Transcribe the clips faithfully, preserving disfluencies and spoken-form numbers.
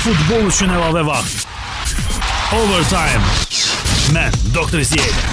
Futbol üçün əlavə vaxt. Overtime. Mən Doktor Ziyədə.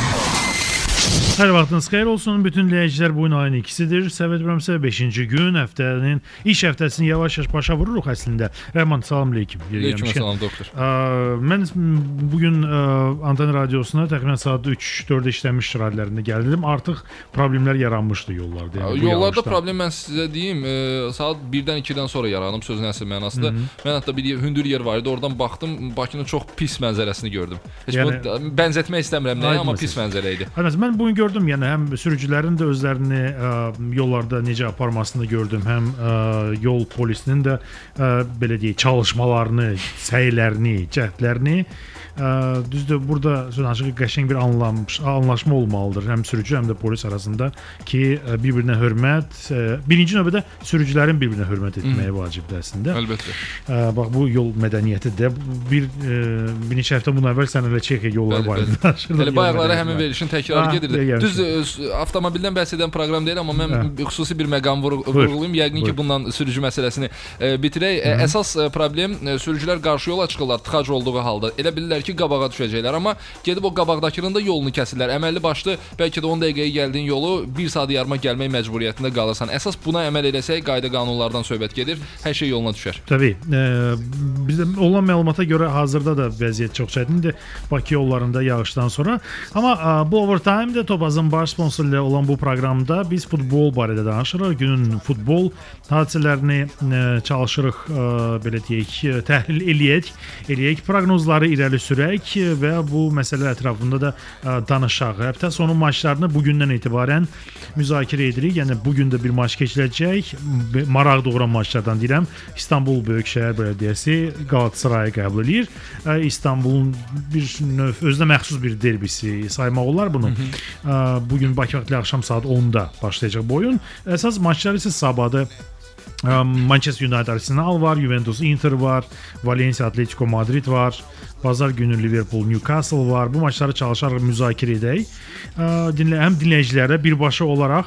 Hər vaxtınız xeyir olsun. Bütün dinləyicilər, bu gün ayın ikisidir. Səvət Brəmsə beşinci gün, həftənin iş həftəsini yavaş-yavaş başa vururuq əslində. Rəhman, salam aleyküm. Aleyküm salam, doktor. Mən bugün Anten Radiosuna təxminən saat üç dörd işləmiş radiolarında gəldim. Artıq problemlər yaranmışdı yollarda. Yəni, yollarda problem mən sizə deyim, saat birdən ikidən sonra yaranıb sözün əsl mənasında. Mən hətta bir hündür yer var idi, oradan baxdım, Bakının çox pis mənzərəsini gördüm. Heç yəni, bu bənzətmək istəmirəm nəyə, amma pis mənzərə idi. Mən bugün gördüm, yəni həm sürücülərin də özlərini ə, yollarda necə aparmasını gördüm, həm ə, yol polisinin də ə, belə deyək, çalışmalarını, səylərini, cəhdlərini. Ə, düzdür, burada sözünə qəşəng bir anlamış, anlaşma olmalıdır həm sürücü, həm də polis arasında ki, bir-birinə hörmət, ə, birinci növbədə sürücülərin bir-birinə hörmət etməyə vacibdir əslində. Əlbəttə. Ə, bax, bu yol mədəniyyəti də bir, ə, bir neçə həftə bundan əvvəl sən elə Çexiya yolları var idi. Elə bayaqlara həmin verilişin təkrarı gedirdi. Düz avtomobildən bəhs edən proqram deyil, amma mən hə. xüsusi bir məqam vurğulayım. Yəqin ki, bundan sürücü məsələsini e, bitirək. E, əsas e, problem e, sürücülər qarşı yola çıxırlar tıxac olduğu halda. Elə bilirlər ki, qabağa düşəcəklər, amma gedib o qabaqdakının da yolunu kəsirlər. Əməlli başlı bəlkə də on dəqiqəyə gəldiyin yolu bir saat yarıma gəlmək məcburiyyətində qalırsan. Əsas buna əməl eləsək, qayda qanunlardan söhbət gedir, hər şey yoluna düşər. Təbii. E, bizdə olan məlumata görə hazırda da vəziyyət çox çətindir Bakı yollarında yağışdan sonra. Amma a, bu overtime-də Topazın baş sponsoru ilə olan bu proqramda biz futbol barədə danışırıq. Günün futbol hadisələrini e, çalışırıq, e, belə deyək, təhlil eləyək, eləyək, proqnozları irəli sürək və bu məsələ ətrafında da e, danışaq. Həftə sonu maçlarını bugündən etibarən müzakirə edirik. Yəni bugün də bir maç keçiriləcək. Maraq doğuran maçlardan deyirəm. İstanbul Böyükşəhər Bələdiyyəsi Qalatasarayı qəbul edir. E, İstanbulun bir növ özünə məxsus bir derbisi saymaq olar bunu. Hı -hı. E, bugün Bakı vaxtı axşam saat onda başlayacaq bu oyun. Əsas maçlar isə sabahda Manchester United Arsenal var, Juventus Inter var, Valencia Atletico Madrid var, Bazar günü Liverpool Newcastle var. Bu maçları çalışaraq müzakirə edək. Dinlə, həm dinləyicilərə birbaşa olaraq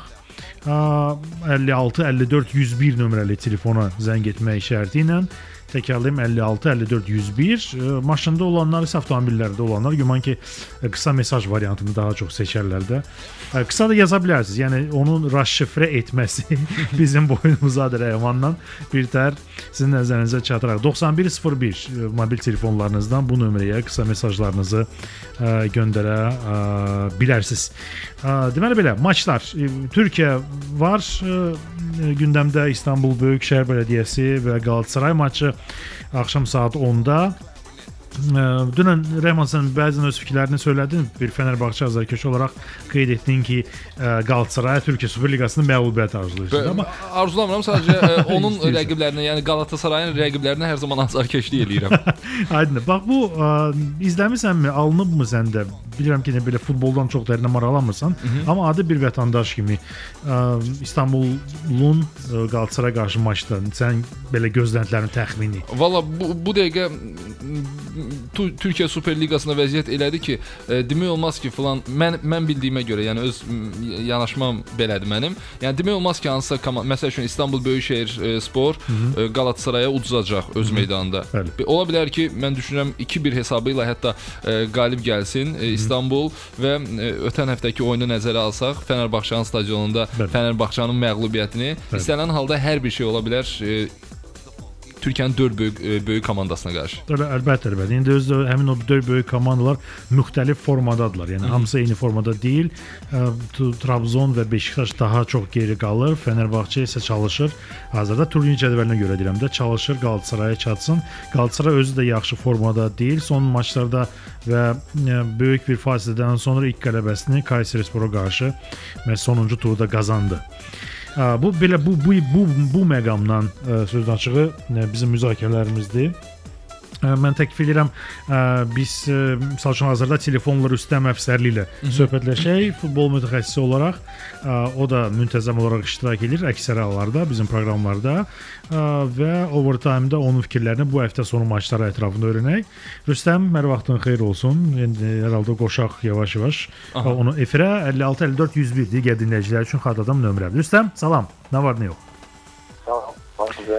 əlli altı əlli dörd yüz bir nömrəli telefona zəng etmək şərti ilə təkrarlayım, əlli altı əlli dörd yüz bir. Maşında olanlar isə avtomobillərdə olanlar güman ki, qısa mesaj variantını daha çox seçərlər də. Qısa da yaza bilərsiniz. Yəni onun raşifrə etməsi bizim boynumuzadır Rəhmandan. Bir tər sizin nəzərinizə çatıraq. doxsan bir sıfır bir mobil telefonlarınızdan bu nömrəyə qısa mesajlarınızı ə, göndərə ə, bilərsiniz. Ə, deməli belə, maçlar. Türkiyə var. Ə, gündəmdə İstanbul Böyükşəhər Bələdiyyəsi və Qalatasaray maçı axşam saat onda. Dünən Rəhman, sən bəzən öz fikirlərini söylədin. Bir Fenerbahçe azarkeşi olaraq qeyd etdin ki, Qalatasaraya Türkiyə Superliqasının məğlubiyyət arzulayırsan. Amma arzulamıram, sadəcə onun rəqiblərinə, yəni Qalatasarayın rəqiblərinə hər zaman azarkeşlik eləyirəm. Aydın. Bax bu ə, izləmisənmi, alınıbmı səndə? Bilirəm ki, belə futboldan çox dərinə maraqlanmırsan, Hı -hı. amma adi bir vətəndaş kimi ə, İstanbulun ə, Qalatasaraya qarşı maçda sən belə gözləntilərin təxmini. Valla bu, bu dəqiqə Türkiyə Superliqasında vəziyyət elədi ki, e, demək olmaz ki, falan mən mən bildiyimə görə, yəni öz yanaşmam belədir mənim. Yəni demək olmaz ki, hansısa komanda, məsəl üçün İstanbul Böyükşəhər e, Spor e, Qalatasaraya uduzacaq öz Hı -hı. meydanında. Bəli. Ola bilər ki, mən düşünürəm iki bir hesabı ilə hətta e, qalib gəlsin e, İstanbul və e, ötən həftəki oyunu nəzərə alsaq, Fenerbahçe'nin stadionunda Bəli. Fenerbahçe'nin məğlubiyyətini Bəli. istənilən halda hər bir şey ola bilər. E, Türkiyənin dörd böyük, böyük komandasına qarşı. Əlbəttə, əlbəttə. İndi özü həmin o dörd böyük komandalar müxtəlif formadadılar. Yəni hamısı eyni formada deyil. Trabzon və Beşiktaş daha çox geri qalır. Fenerbahçe isə çalışır. Hazırda turnirin cədvəlinə görə deyirəm də, çalışır Qalatasaraya çatsın. Galatasaray özü də yaxşı formada deyil. Son maçlarda və böyük bir fasilədən sonra ilk qələbəsini Kayserispor'a qarşı və sonuncu turda qazandı. Bu belə bu bu bu bu məqamdan sözün açığı bizim müzakirələrimizdir. Mən təklif edirəm, biz misal üçün hazırda telefonlar üstəm əfsərliyi ilə söhbətləşək, futbol mütəxəssisi olaraq. O da müntəzəm olaraq iştirak edir əksər hallarda bizim proqramlarda və overtime-da onun fikirlərini bu həftə sonu maçları ətrafında öyrənək. Rüstəm, hər vaxtın xeyir olsun. Hər halda qoşaq yavaş-yavaş. Onu efirə əlli altı əlli dörd yüz bir digər dinləyicilər üçün xatırladam nömrə. Rüstəm, salam. Nə var, nə yox? Salam. Var sizə.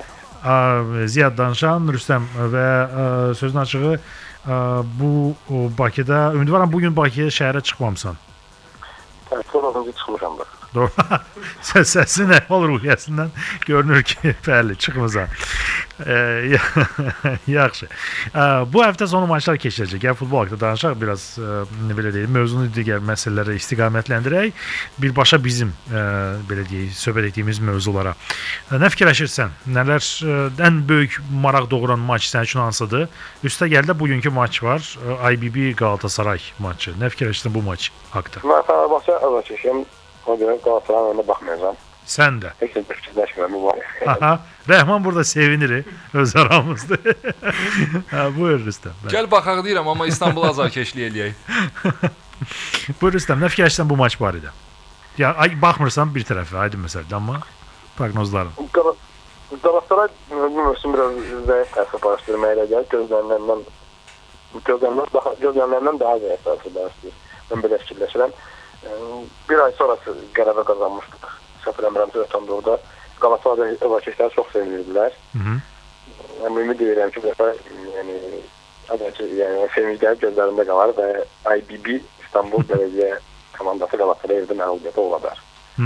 Ziyad danışan Rüstəm və sözün açığı bu Bakıda, ümidvaram bugün Bakıya şəhərə çıxmamısan. Evet, sonradan çıxmışam da. Doğru. Səsi nə olur ruhiyyəsindən görünür ki, bəli, çıxmısan. E, yaxşı. E, bu həftə sonu maçlar keçiriləcək. Yəni futbol haqqında danışaq, biraz e, belə deyim, mövzunu digər məsələlərə istiqamətləndirək. Birbaşa bizim e, belə deyək, söhbət etdiyimiz mövzulara. E, nə fikirləşirsən? Nələr e, ən böyük maraq doğuran maç sənin üçün hansıdır? Üstə gəldə bugünkü maç var. I B B Galatasaray maçı. Nə fikirləşirsən bu maç haqqında? Mən Fenerbahçe azarkeşiyəm. O görə Galatasarayın önünə baxmayacağam. Sən də. Heç də fikirləşmirəm bu var. Aha, Rəhman burada sevinir öz aramızda. Ha, buyur Rüstəm. Gəl baxaq deyirəm, amma İstanbul azarkeşlik eləyək. Buyur Rüstəm, nə fikirləşirsən bu maç barədə? Ya ay baxmırsan bir tərəfə, aydın məsələdir, amma proqnozların. Galatasaray bu mövsüm biraz zəif təsir bağışdırmaya elə gəlir. Gözlənilenden gözlənilenden daha gözlənilenden daha zəif təsir bağışdırır. Mən belə fikirləşirəm. Bir ay sonrası qələbə qazanmışdıq. Səfər əmrəmizə ötən orada Galatasaray azarkeşləri çox sevinirdilər. Mən ümid edirəm ki, bu dəfə yəni yəni sevinclər gözlərində qalar və I B B İstanbul Belediye komandası Galatasaray evdə məğlubiyyətə ola bilər.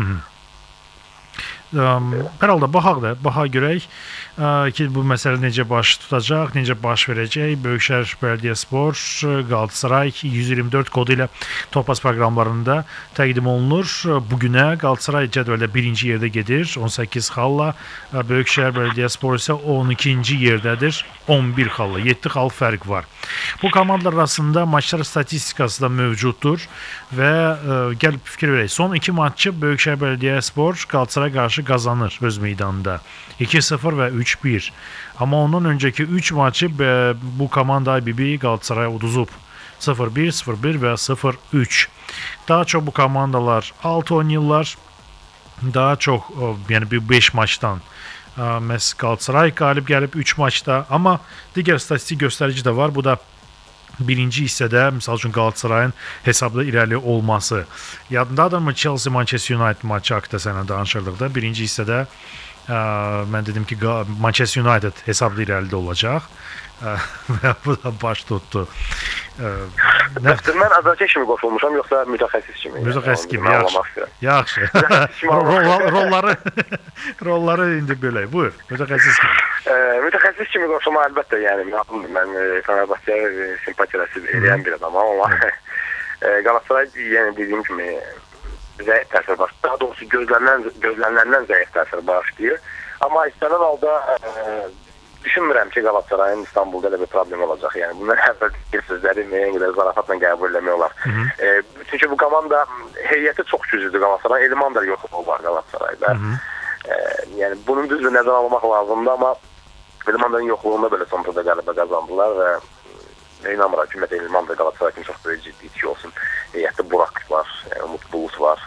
Hər halda baxaq da, baxaq görək ki, bu məsələ necə baş tutacaq, necə baş verəcək. Böyükşəhər Belediyespor Galatasaray yüz iyirmi dörd kodu ilə Topaz proqramlarında təqdim olunur. Bugünə Galatasaray cədvəldə birinci yerdə gedir, on səkkiz xalla. Böyükşəhər Belediyespor isə on ikinci yerdədir, on bir xalla. yeddi xal fərq var. Bu komandalar arasında maçlar statistikası da mövcuddur və gəlib fikir verək. Son iki maçı Böyükşəhər Belediyespor Galatasaray qarşı qazanır öz meydanında. iki sıfır və üç bir. Amma ondan öncəki üç maçı bu komanda I B B Qalatasaraya uduzub. sıfır bir, sıfır bir və sıfır üç. Daha çox bu komandalar altı oynayırlar. Daha çox, yəni bir beş maçdan məhz Qalatasaray qalib gəlib üç maçda. Amma digər statistik göstərici də var. Bu da birinci hissədə, misal üçün Qalatasarayın hesabda irəli olması. Yadındadırmı Chelsea Manchester United maçı haqqında sənə danışırdıqda? Birinci hissədə ə, mən dedim ki, Manchester United hesabda irəlidə olacaq. Və bu da baş tutdu. Nə? Mən azarkeş kimi qoşulmuşam, yoxsa mütəxəssis kimi? Mütəxəssis kimi, yaxşı. Yaxşı. Rolları rolları indi belə. Buyur, mütəxəssis kimi. Mütəxəssis kimi qoşulma əlbəttə, yəni mən Fenerbahçeyə simpatiyası eləyən bir adamam, amma Galatasaray, yəni dediyim kimi zəif təsir başlayır. Daha doğrusu gözlənilenden zəif təsir başlayır. Amma istənilən halda düşünmürəm ki, Galatasarayın İstanbulda elə bir problem olacaq. Yəni bunlar əvvəl bir sözləri müəyyən qədər zarafatla qəbul eləmək olar. E, çünki bu komanda heyəti çox güclüdür Galatasaray. Elman da yoxluğu var Galatasarayda. E, yəni bunun düzdür nəzərə almaq lazımdır, amma Elmanların yoxluğunda belə son turda qələbə qazandılar və inanmıram ki, ümumiyyətlə Elman da Galatasaray kimi çox böyük ciddi iki olsun. Heyətdə Burak var, Umut Bulut var.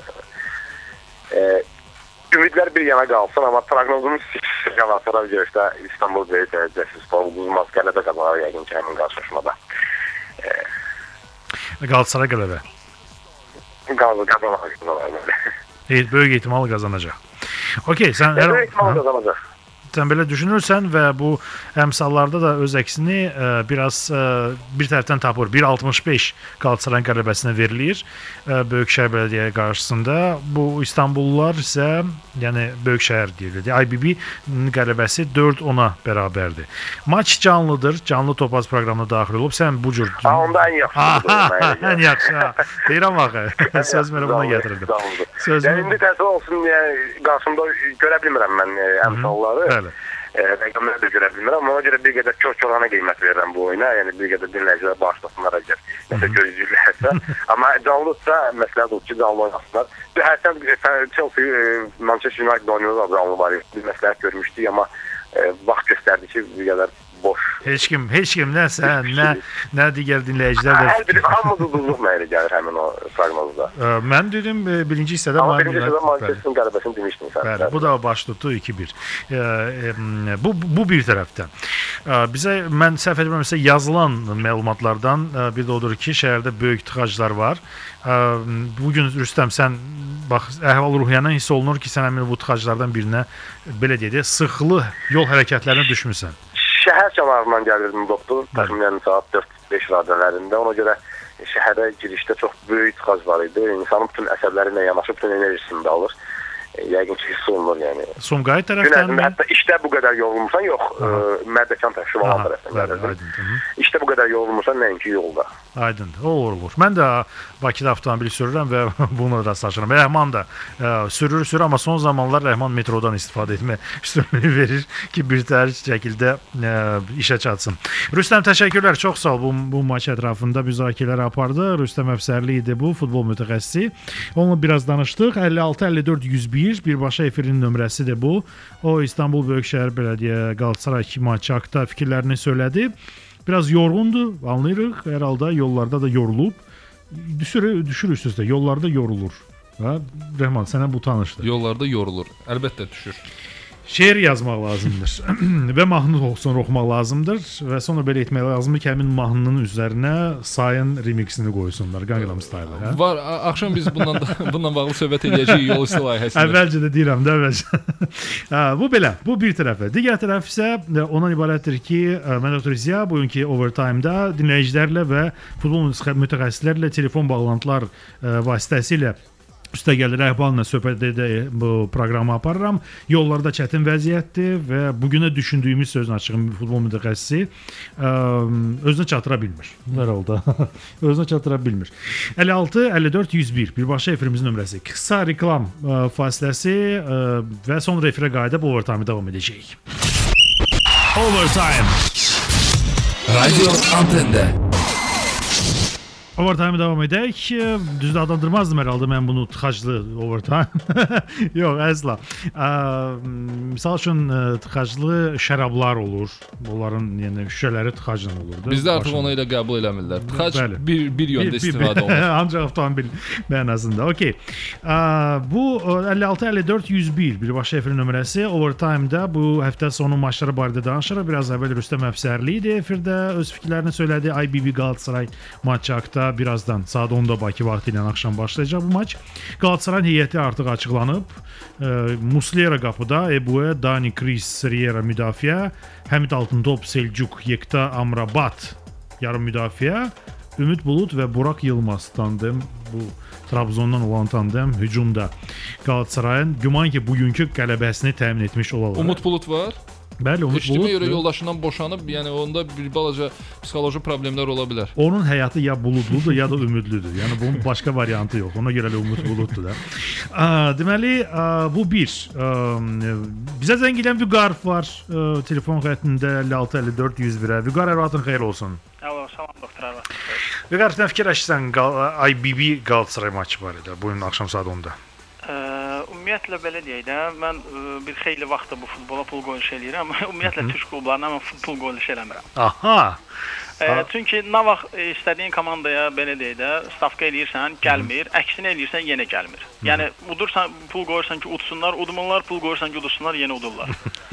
E, Ümidlər bir yana qalsın, amma proqnozumuz Galatasaray görüşdə İstanbul Böyük Belediyespor uduzmaz, qələbə qazanar yəqin ki, həmin qarşılaşmada. Galatasaray qələbə. Qazanar qazanır. Böyük ehtimal qazanacaq. Okey, sən böyük ehtimal qazanacaq. Sən belə düşünürsən və bu əmsallarda da öz əksini ə, biraz ə, bir tərəfdən tapır. bir altmış beş Qalatasarayın qələbəsinə verilir ə, Böyükşəhər Belediyə qarşısında. Bu İstanbullular isə, yəni Böyükşəhər deyilir. I B B qələbəsi dörd ona bərabərdir. Maç canlıdır. Canlı Topaz proqramına daxil olub. Sən bu cür... Ha, onda ən yaxşıdır. Ən yaxşı. Deyirəm axı. Söz mənə buna gətirirdim. Yəni, indi təsir olsun, qarşımda görə bilmirəm mən əmsalları. Rəqəmləri də görə bilmirəm, amma ona görə bir qədər çox-çoğana qiymət verirəm bu oyuna. Yəni bir qədər dinləyicilər bağışlasınlar əgər nəsə gözləyirlərsə. Amma canlıdsa məsləhət olur ki, canlı oynasınlar. Hərsən Chelsea Manchester United oynuyorlar, canlı var. Biz məsləhət görmüşdük, amma vaxt göstərdi ki, bir qədər boş. Heç kim, heç kim, nə sən, nə, nə digər dinləyicilər də... Hər biri hamı duduzluq mənə gəlir həmin o proqnozda. Mən dedim, birinci hissədə... Amma birinci hissədə Manchester'ın qələbəsini demişdin sən. Bəli, bu da baş tutdu iki bir. Bu, bu bir tərəfdən. Bizə mən səhv etmirəmsə yazılan məlumatlardan bir də odur ki, şəhərdə böyük tıxaclar var. Bu gün Rüstəm sən bax əhval-ruhiyyədən hiss olunur ki, sən həmin bu tıxaclardan birinə belə deyək, sıxlı yol hərəkətlərinə düşmüsən. Şəhər kənarından gəlirdim doktor, təxminən saat dörd beş radələrində. Ona görə şəhərə girişdə çox böyük tıxac var idi. İnsanın bütün əsəbləri ilə yanaşı bütün enerjisini də alır. Yəqin ki, hiss olunur yəni. Sumqayıt tərəfdən mi? Hətta işdə bu qədər yorulmuşsan, yox, Mərdəkan tərəfi olan tərəfdən. İşdə bu qədər yorulmuşsan, nəinki yolda. Aydın, o olur. Mən də Bakıda avtomobil sürürəm və bunu rastlaşıram. Rəhman da sürür, sürür, amma son zamanlar Rəhman metrodan istifadə etmək üstünlüyü verir ki, bir tərcih şəkildə işə çatsın. Rüstəm, təşəkkürlər, çox sağ ol. Bu, bu maç ətrafında müzakirələr apardı. Rüstəm Əfsərli idi bu, futbol mütəxəssisi. Onunla biraz danışdıq. əlli altı əlli dörd yüz bir birbaşa efirinin nömrəsidir bu. O İstanbul Böyükşəhər Bələdiyyə Qalatasaray maçı haqqında fikirlərini söylədi. Biraz yorğundur, anlayırıq. Hər halda yollarda da yorulub. Düşür, düşür üst-üstə, yollarda yorulur. Ha? Rəhman, sənə bu tanışdır. Yollarda yorulur, əlbəttə düşür. Şeir yazmaq lazımdır və mahnı oxusun oxumaq lazımdır və sonra belə etmək lazımdır ki, həmin mahnının üzərinə sayın remixini qoysunlar, Gangnam Style. Hə? Var, axşam biz bundan da, bundan bağlı söhbət edəcəyik yol üstü layihəsində. Əvvəlcə də deyirəm də, əvvəlcə. Bu belə, bu bir tərəfə. Digər tərəf isə ondan ibarətdir ki, mən Doktor Ziya bugünkü Overtime-da dinləyicilərlə və futbol mütəxəssislərlə telefon bağlantılar vasitəsilə üstəgəl rəhbanla söhbət edə bu proqramı aparıram. Yollarda çətin vəziyyətdir və bugünə düşündüyümüz sözün açığı futbol mütəxəssisi özünə çatıra bilmir. Hər halda özünə çatıra bilmir. əlli altı əlli dörd yüz bir birbaşa efirimizin nömrəsi. Qısa reklam fasiləsi və sonra efirə qayıdıb Overtime davam edəcəyik. Overtime. Radio Antende. Overtime davam edək. Düzdür, adlandırmazdım hər halda mən bunu tıxaclı overtime. Yox, əsla. Misal üçün tıxaclı şərablar olur. Onların yəni şüşələri tıxacla olurdu. Bizdə artıq onu elə qəbul eləmirlər. Tıxac bir, bir yöndə istifadə olunur. Ancaq avtomobil mənasında. Okey. Bu əlli altı əlli dörd yüz bir birbaşa efir nömrəsi. Overtime-da bu həftə sonu maçları barədə danışırıq. Biraz əvvəl Rüstəm Əfsərli idi efirdə öz fikirlərini söylədi. I B B Galatasaray maçı haqqında. Birazdan saat onda Bakı vaxtı ilə axşam başlayacaq bu maç. Qalatasaray heyəti artıq açıqlanıb. E, Muslera qapıda, Ebue, Dani Kris, Riera müdafiə, Həmid Altıntop, Selçuk, Yekta Amrabat yarım müdafiə, Ümid Bulut və Burak Yılmaz tandem, bu Trabzondan olan tandem hücumda. Qalatasarayın güman ki bugünkü qələbəsini təmin etmiş olarlar. Umut Bulut var. Bəli, Umut Bulut. Bulut. görə yoldaşından boşanıb, yəni onda bir balaca psixoloji problemlər ola bilər. Onun həyatı ya buludludur, ya da ümidlidir. Yəni bunun başqa variantı yox. Ona görə də Umut Buluddur da. A, deməli, a, bu bir. A, bizə zəng edən Vüqar var. A, telefon xəttində əlli altı əlli dörd yüz bir. Vüqar, əvvəlin xeyir olsun. Alo, salam doktor Arvad. Vüqar, sən fikirləşsən I B B Galatasaray maçı var idi bu gün axşam saat onda. Ümumiyyətlə belə deyək də, mən bir xeyli vaxtdır bu futbola pul qoyuluş eləyirəm, amma ümumiyyətlə türk klublarına mən pul qoyuluş eləmirəm. Aha. E, çünki nə vaxt istədiyin komandaya belə deyək də, stavka eləyirsən, gəlmir, əksinə eləyirsən, yenə gəlmir. Yəni udursan, pul qoyursan ki, udsunlar, udmurlar, pul qoyursan ki, udursunlar, yenə udurlar.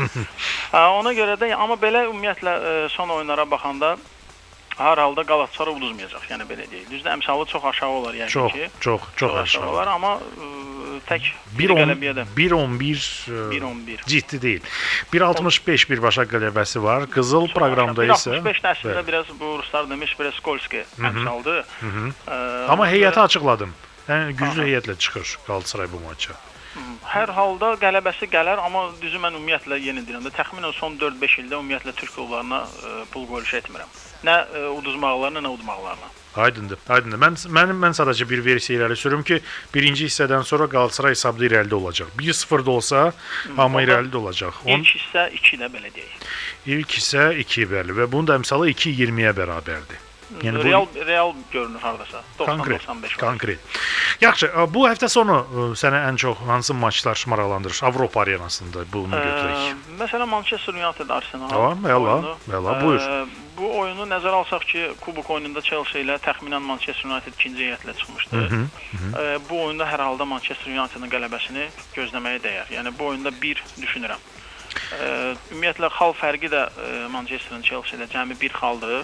Ona görə də, amma belə ümumiyyətlə son oyunlara baxanda hər halda Galatasaray uduzmayacaq, yəni belə deyək. Düzdür, əmsalı çox aşağı olar yəni çox, ki. Çox, çox, çox aşağı olar, amma ə, tək bir qələbəyə bir on bir ciddi deyil. bir altmış beş birbaşa qələbəsi var. Qızıl çox proqramda isə bir altmış beş əslində biraz bu ruslar demiş, biraz Skolski əmsaldır. Amma heyəti açıqladım. Yəni güclü heyətlə çıxır Galatasaray bu maça. Hər halda qələbəsi gələr, amma düzü mən ümumiyyətlə yenə deyirəm də, təxminən son dörd beş ildə ümumiyyətlə türk klublarına ə, pul qoyuluş etmirəm. Nə ə, uduzmaqlarına, nə udmaqlarına. Aydındır, aydındır. Mən mənim mən sadəcə bir versiya irəli sürüm ki, birinci hissədən sonra Galatasaray hesabda irəlidə olacaq. bir sıfır da olsa, amma irəlidə olacaq. On... İlk hissə iki də belə deyək. İlk hissə iki bəli və bunun da əmsalı iki iyirmiyə bərabərdir. Yəni real bu... real görünür hardasa. doxsan doxsan beş. Konkret. Yaxşı, bu həftə sonu sənə ən çox hansı maçlar maraqlandırır Avropa arenasında bunu götürək? Ə, məsələn Manchester United Arsenal. Tamam, əla, əla, buyur. Ə, bu oyunu nəzərə alsaq ki, kubok oyununda Chelsea ilə təxminən Manchester United ikinci heyətlə çıxmışdı. Hı -hı, hı. Ə, bu oyunda hər halda Manchester United-ın qələbəsini gözləməyə dəyər. Yəni bu oyunda bir düşünürəm. E, ümumiyyətlə xal fərqi də e, Manchester'ın Chelsea ilə cəmi bir xaldır.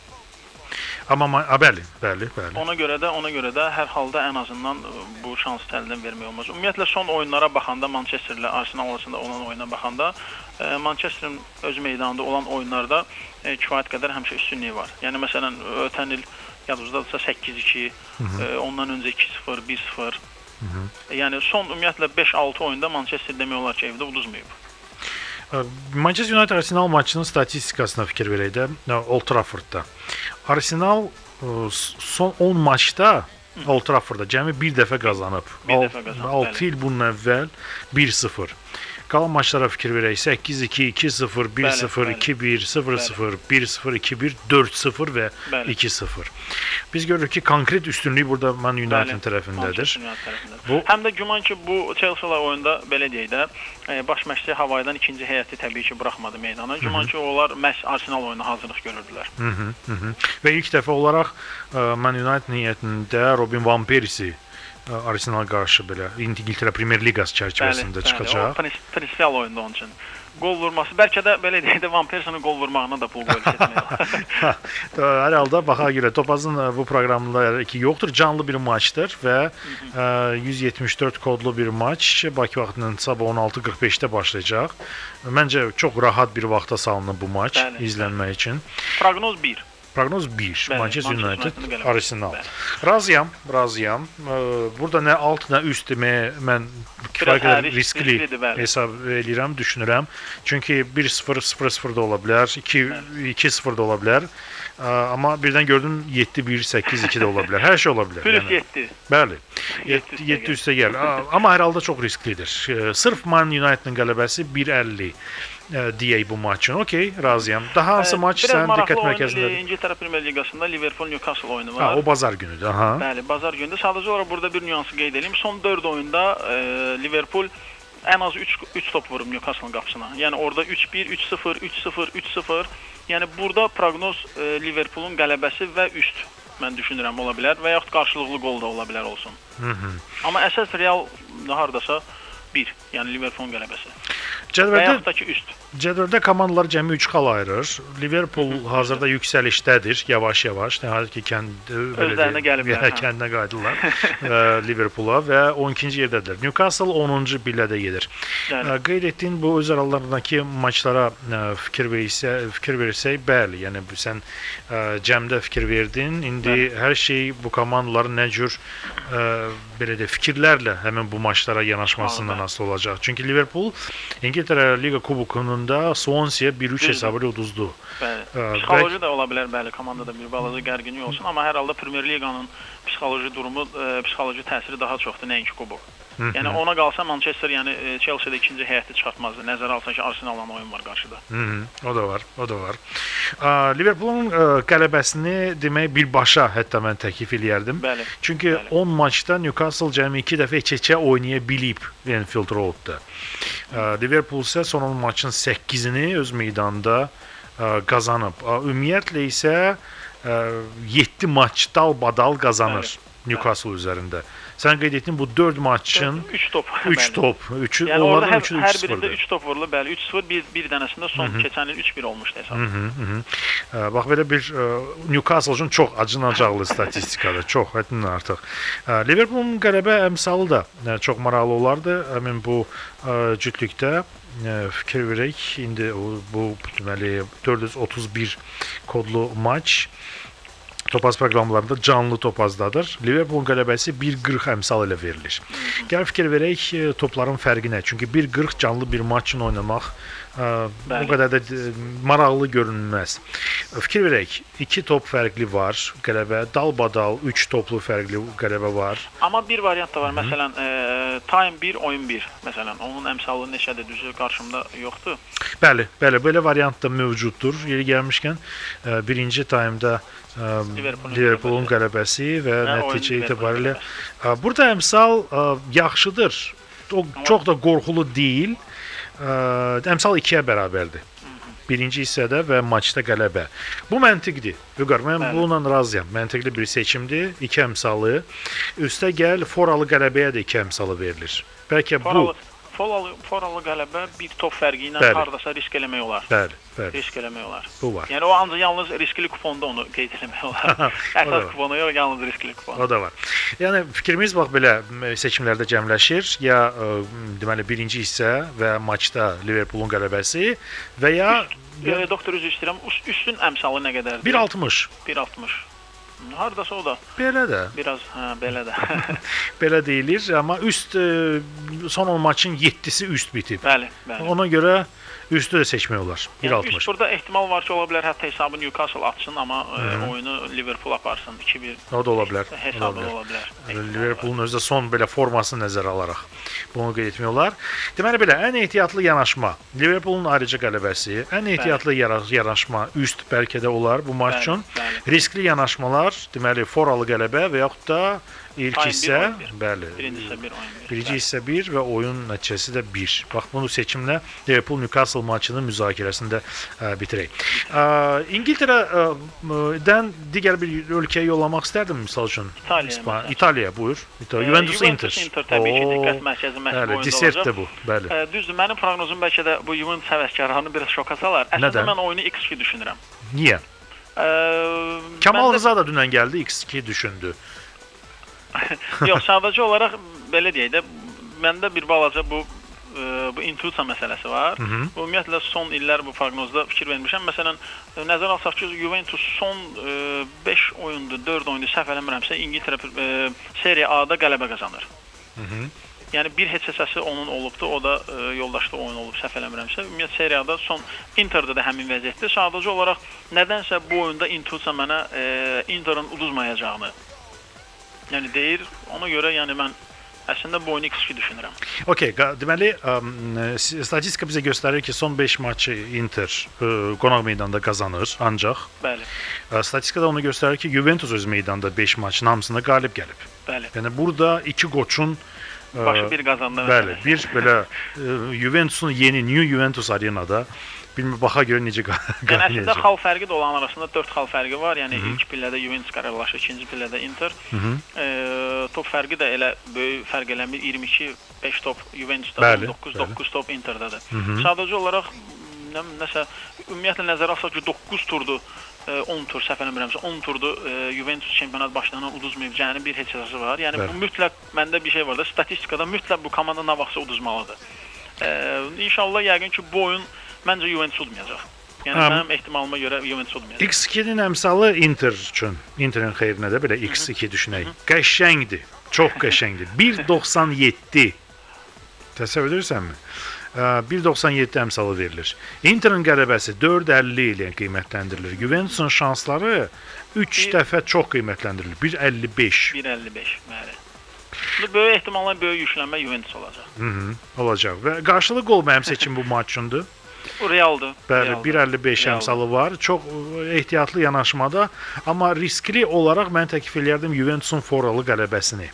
Amma a, bəli, bəli, bəli. Ona görə də, ona görə də hər halda ən azından bu şansı əldən vermək olmaz. Ümumiyyətlə son oyunlara baxanda Manchester ilə Arsenal arasında olan oyuna baxanda e, Manchester'ın öz meydanında olan oyunlarda e, kifayət qədər həmişə üstünlüyü var. Yəni məsələn ötən il yadınızdadırsa səkkiz iki, e, ondan öncə iki sıfır, bir sıfır. E, yəni son ümumiyyətlə beş altı oyunda Manchester demək olar ki, evdə uduzmayıb. Manchester United Arsenal maçının statistikasına fikir verək də Old Traffordda. Arsenal son on maçda Old Traffordda cəmi bir dəfə qazanıb. Bir dəfə qazanıb. altı il bundan əvvəl bir sıfır. Qalan maçlara fikir verək. səkkiz iki, iki sıfır, bir sıfır, iki bir, sıfır sıfır, bir sıfır, iki bir, dörd sıfır və bəli. iki sıfır. Biz görürük ki, konkret üstünlük burada Man United tərəfindədir. Bu həm də güman ki, bu Chelsea ilə oyunda belə deyək də, baş məşqçi Havaydan ikinci heyəti təbii ki, buraxmadı meydana. Güman ki, onlar məhz Arsenal oyuna hazırlıq görürdülər. Hı -hı, hı -hı. Və ilk dəfə olaraq Man United niyyətində Robin Van Persie Arsenal qarşı belə İngiltərə Premier Liqası çərçivəsində bəli, çıxacaq. Bəli, o prinsipial oyunda onun üçün. Gol vurması, bəlkə də belə deyək də Van Persie'nin gol vurmağına da pul qoyub seçmək. Hər halda baxa görə Topazın bu proqramında ki yoxdur, canlı bir maçdır və yüz yetmiş dörd kodlu bir maç Bakı vaxtının sabah on altı qırx beşdə başlayacaq. Məncə çox rahat bir vaxta salınıb bu maç bəli, izlənmək üçün. Proqnoz bir. Proqnoz bir. Bəli, Manchester United, United Arsenal. Bəli. Razıyam, razıyam. Burada nə alt, nə üst deməyə mən kifayət qədər riskli hesab edirəm, düşünürəm. Çünki bir sıfır, sıfır sıfır da ola bilər, iki sıfır da ola bilər. Amma birdən gördüm yeddi bir, səkkiz iki də ola bilər. Hər şey ola bilər. Plus yeddi. Bəli. yeddi üstə gəl. Amma hər halda çox risklidir. Sırf Man United'ın qələbəsi bir əlli deyək bu maçın. Okey, razıyam. Daha hansı maç sən diqqət mərkəzindədir? Biraz İngiltərə Premier Liqasında Liverpool Newcastle oyunu var. Ha, o bazar günüdür. Aha. Bəli, bazar günüdür. Sadəcə olaraq burada bir nüansı qeyd edeyim. Son dörd oyunda e, Liverpool ən az üç top vurub Newcastle qapısına. Yəni orada üç bir, üç sıfır, üç sıfır, üç sıfır. Yəni burada proqnoz e, Liverpoolun qələbəsi və üst mən düşünürəm ola bilər və yaxud qarşılıqlı qol da ola bilər olsun. Hı -hı. Amma əsas Real hardasa bir, yəni Liverpoolun qələbəsi. Cədvəldə, və yaxud da ki üst. Cədvəldə komandalar cəmi üç xal ayırır. Liverpool Hı -hı. hazırda yüksəlişdədir, yavaş-yavaş. Nəhayət ki, kənd özlərinə gəliblər. Hə, kəndinə qayıdırlar Liverpoola və on ikinci yerdədirlər. Newcastle onuncu pillədə gedir. Yəni. Qeyd etdiyin bu öz aralarındakı maçlara fikir versə, fikir versək, bəli, yəni sən cəmdə fikir verdin. İndi bəli. Hər şey bu komandaların nə cür belə də fikirlərlə həmin bu maçlara yanaşmasından asılı olacaq. Çünki Liverpool İngiltərə Liqa Kubokununda Swansea bir üç hesabı ilə uduzdu. Bəli. Psixoloji da ola bilər, bəli, komandada bir balaca gərginlik olsun, amma hər halda Premier Liqanın psixoloji durumu, e, psixoloji təsiri daha çoxdur nəinki kubok. Yəni ona qalsa Manchester, yəni Chelsea-də ikinci heyəti çıxartmazdı. Nəzərə alsa ki, Arsenal-la oyun var qarşıda. Hı -hı. O da var, o da var. Uh, Liverpoolun uh, qələbəsini demək birbaşa hətta mən təklif eləyərdim. Bəli. Çünki bəli. on maçda Newcastle cəmi iki dəfə iç-içə oynaya bilib Anfield Road-da. Uh, Liverpool isə son on maçın səkkizini öz meydanında uh, qazanıb. Uh, ümumiyyətlə isə uh, yeddi maç dal-badal qazanır bəli. Newcastle bəli. Üzərində. Sən qeyd etdin bu dörd maçın üç top. üç top. üçü yəni onların hər, üçü hər birində üç top vurulub, bəli, üç sıfır, bir, bir dənəsində son Hı -hı. keçən il üç bir olmuşdu hesab. Hı -hı, hı -hı. Bax belə bir uh, Newcastle üçün çox acınacaqlı statistikadır, çox həddindən artıq. Uh, Liverpoolun qələbə əmsalı da uh, çox maraqlı olardı. Həmin bu uh, cütlükdə uh, fikir verək. İndi o, bu deməli dörd yüz otuz bir kodlu maç Topaz proqramlarında canlı Topazdadır. Liverpoolun qələbəsi bir qırx əmsal ilə verilir. Gəl fikir verək topların fərqi nə? Çünki bir qırx canlı bir maç üçün oynamaq ə, o qədər də maraqlı görünməz. Fikir verək, iki top fərqli var qələbə, dalbadal üç toplu fərqli qələbə var. Amma bir variant da var. Hı -hı. Məsələn, e, time bir, oyun bir. Məsələn, onun əmsalı neçədir, düzü qarşımda yoxdur. Bəli, bəli, belə variant da mövcuddur. Yeri gəlmişkən, e, birinci time'da Liverpoolun qələbəsi və hə, nəticə itibarilə burada əmsal ə, yaxşıdır. O çox da qorxulu deyil. Ə, əmsal ikiyə bərabərdir. Birinci hissədə və maçda qələbə. Bu məntiqdir. Vüqar, mən Bəli. bununla razıyam. Məntiqli bir seçimdir. İki əmsalı. Üstə gəl, foralı qələbəyə də iki əmsalı verilir. Bəlkə foralı, bu Foralı, foralı qələbə bir top fərqi ilə Bəli. hardasa risk eləmək olar. Bəli, bəli. Risk eləmək olar. Bu var. Yəni o ancaq yalnız riskli kuponda onu qeyd etmək olar. Əsas kuponu yox, yalnız riskli kupon. O da var. Yəni fikrimiz bax belə seçimlərdə cəmləşir. Ya ə, deməli birinci hissə və maçda Liverpoolun qələbəsi və ya, ya e, doktor üzr istəyirəm. Üstün əmsalı nə qədərdir? bir altmış. bir altmış. Hardasa o da. Belə də. Biraz, hə, belə də. Belə deyilir, amma üst ə, son on maçın yeddisi üst bitib. Bəli, bəli. Ona görə üstü də seçmək olar. bir altmış. Yəni, üst burada ehtimal var ki, ola bilər hətta hesabı Newcastle atsın, amma ə, oyunu Liverpool aparsın iki bir. O da ola bilər. Hesabı ola bilər. Liverpoolun özü də son belə formasını nəzərə alaraq bunu qeyd etmək olar. Deməli belə, ən ehtiyatlı yanaşma Liverpoolun ayrıca qələbəsi, ən ehtiyatlı yanaşma üst bəlkə də olar bu maç üçün. Riskli yanaşmalar, deməli foralı qələbə və yaxud da ilk hissə, bəli. Birinci hissə bir, oyun bir. Birinci hissə bir və oyun nəticəsi də bir. Bax bunu seçimlə Liverpool Newcastle maçının müzakirəsində ə, bitirək. Ə, İngiltərədən digər bir ölkəyə yollamaq istərdim misal üçün. İtaliya. İtaliya, buyur. İtaliya. Juventus Inter. Juventus Inter təbii ki, diqqət mərkəzi məşq oyunda olacaq. Desert də bu, bəli. Ə, düzdür, mənim proqnozum bəlkə də bu Juventus həvəskarlarını biraz şoka salar. Əslində mən oyunu iks iki düşünürəm. Niyə? Ə, Kamal Rıza da dünən gəldi, iks iki düşündü. Yox, sadəcə olaraq belə deyək də, məndə bir balaca bu ə, bu intuisiya məsələsi var. Hı -hı. Ümumiyyətlə son illər bu proqnozda fikir vermişəm. Məsələn, nəzərə alsaq ki, Juventus son beş oyunda, dörd oyunda səhv eləmirəmsə İngiltərə ə, Serie A-da qələbə qazanır. Hı -hı. Yəni bir heç hissəsi onun olubdu, o da ə, yoldaşlı oyun olub səhv eləmirəmsə. Ümumiyyətlə Serie A-da son Interdə də həmin vəziyyətdir. Sadəcə olaraq nədənsə bu oyunda intuisiya mənə ə, Interin uduzmayacağını yəni deyir. Ona görə yəni mən əslində bu oyunu iks iki düşünürəm. Okay, deməli um, statistika bizə göstərir ki, son beş maçı Inter uh, qonaq meydanda qazanır ancaq. Bəli. Uh, statistika da onu göstərir ki, Juventus öz meydanda beş maçın hamısında qalib gəlib. Bəli. Yəni burada iki qoçun uh, başı bir qazandı. Bəli, bir belə uh, Juventusun yeni New Juventus arenada bilmə baxa görə necə qalib. Yəni əslində xal fərqi də olan arasında dörd xal fərqi var. Yəni Hı -hı. ilk pillədə Juventus qararlaşır, ikinci pillədə Inter. Hı -hı. E, top fərqi də elə böyük fərq eləmir. iyirmi iki beş top Juventusda, bəli, doqquz doqquz top Interdədir. Hı -hı. Sadəcə olaraq nə, nəsə ümumiyyətlə nəzərə alsaq ki, doqquz turdu, on tur səhv eləmirəmsə on turdu e, Juventus çempionat başlanan uduzmayacağının bir heç hissəsi var. Yəni bəli. Bu mütləq məndə bir şey var da, statistikada mütləq bu komanda nə vaxtsa uduzmalıdır. E, İnşallah yəqin ki bu oyun məncə Juventus udmayacaq. Yəni um, mənim ehtimalıma görə Juventus udmayacaq. iks ikinin əmsalı Inter üçün. Interin xeyrinə də belə iks iki düşünək. Qəşəngdir. Çox qəşəngdir. bir doxsan yeddi. Təsəvvür edirsənmi? bir doxsan yeddi əmsalı verilir. Interin qələbəsi dörd əlli ilə qiymətləndirilir. Juventusun şansları üç dəfə çox qiymətləndirilir. bir əlli beş. bir əlli beş, bəli. Bu böyük ehtimalla böyük yüklənmə Juventus olacaq. Hı -hı, olacaq. Və qarşılıq gol mənim seçim bu maç üçündür. Bu realdır. Bəli, bir əlli beş əmsalı var. Çox ehtiyatlı yanaşmada, amma riskli olaraq mən təklif edərdim Juventusun foralı qələbəsini.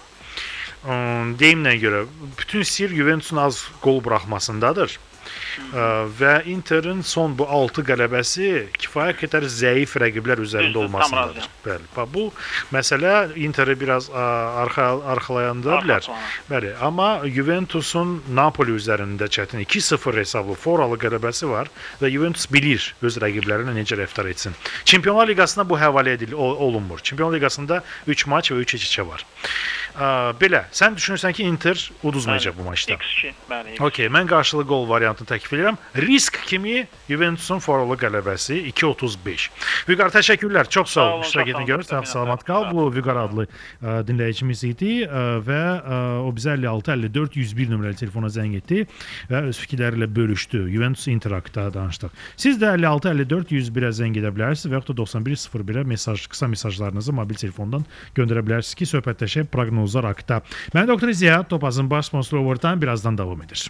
Deyimlə görə, bütün sir Juventusun az gol buraxmasındadır. Ə, və Interin son bu altı qələbəsi kifayət qədər zəif rəqiblər üzərində olmasındadır. Bəli. Bu məsələ Interi biraz ə, arxa arxalayanda bilər. Bəli, amma Juventusun Napoli üzərində çətin iki sıfır hesablı foralı qələbəsi var və Juventus bilir öz rəqiblərinə necə rəftar etsin. Çempionlar Liqasına bu həvalə edilir, olunmur. Çempionlar Liqasında üç maç və üç iç-içə var. Ə, belə, sən düşünürsən ki, Inter uduzmayacaq bu maçda. iks iki, bəli. Okay, mən qarşılıq gol variantını təklif edirəm. Risk kimi Juventusun foralı qələbəsi iki otuz beş. Vüqar, təşəkkürlər. Çox sağ ol. İştirak etdiyinə görə sağ salamat qal. Bu Vüqar adlı ə, dinləyicimiz idi ə, və ə, o bizə əlli altı əlli dörd yüz bir nömrəli telefona zəng etdi və öz fikirləri ilə bölüşdü. Juventus Inter haqqında danışdıq. Siz də əlli altı əlli dörd yüz birə zəng edə bilərsiniz və yaxud da doxsan bir sıfır birə mesaj, qısa mesajlarınızı mobil telefondan göndərə bilərsiniz ki, söhbətləşək proqnozlar haqqında. Mən doktor Ziya, Topazın baş sponsoru Overtime birazdan davam edir.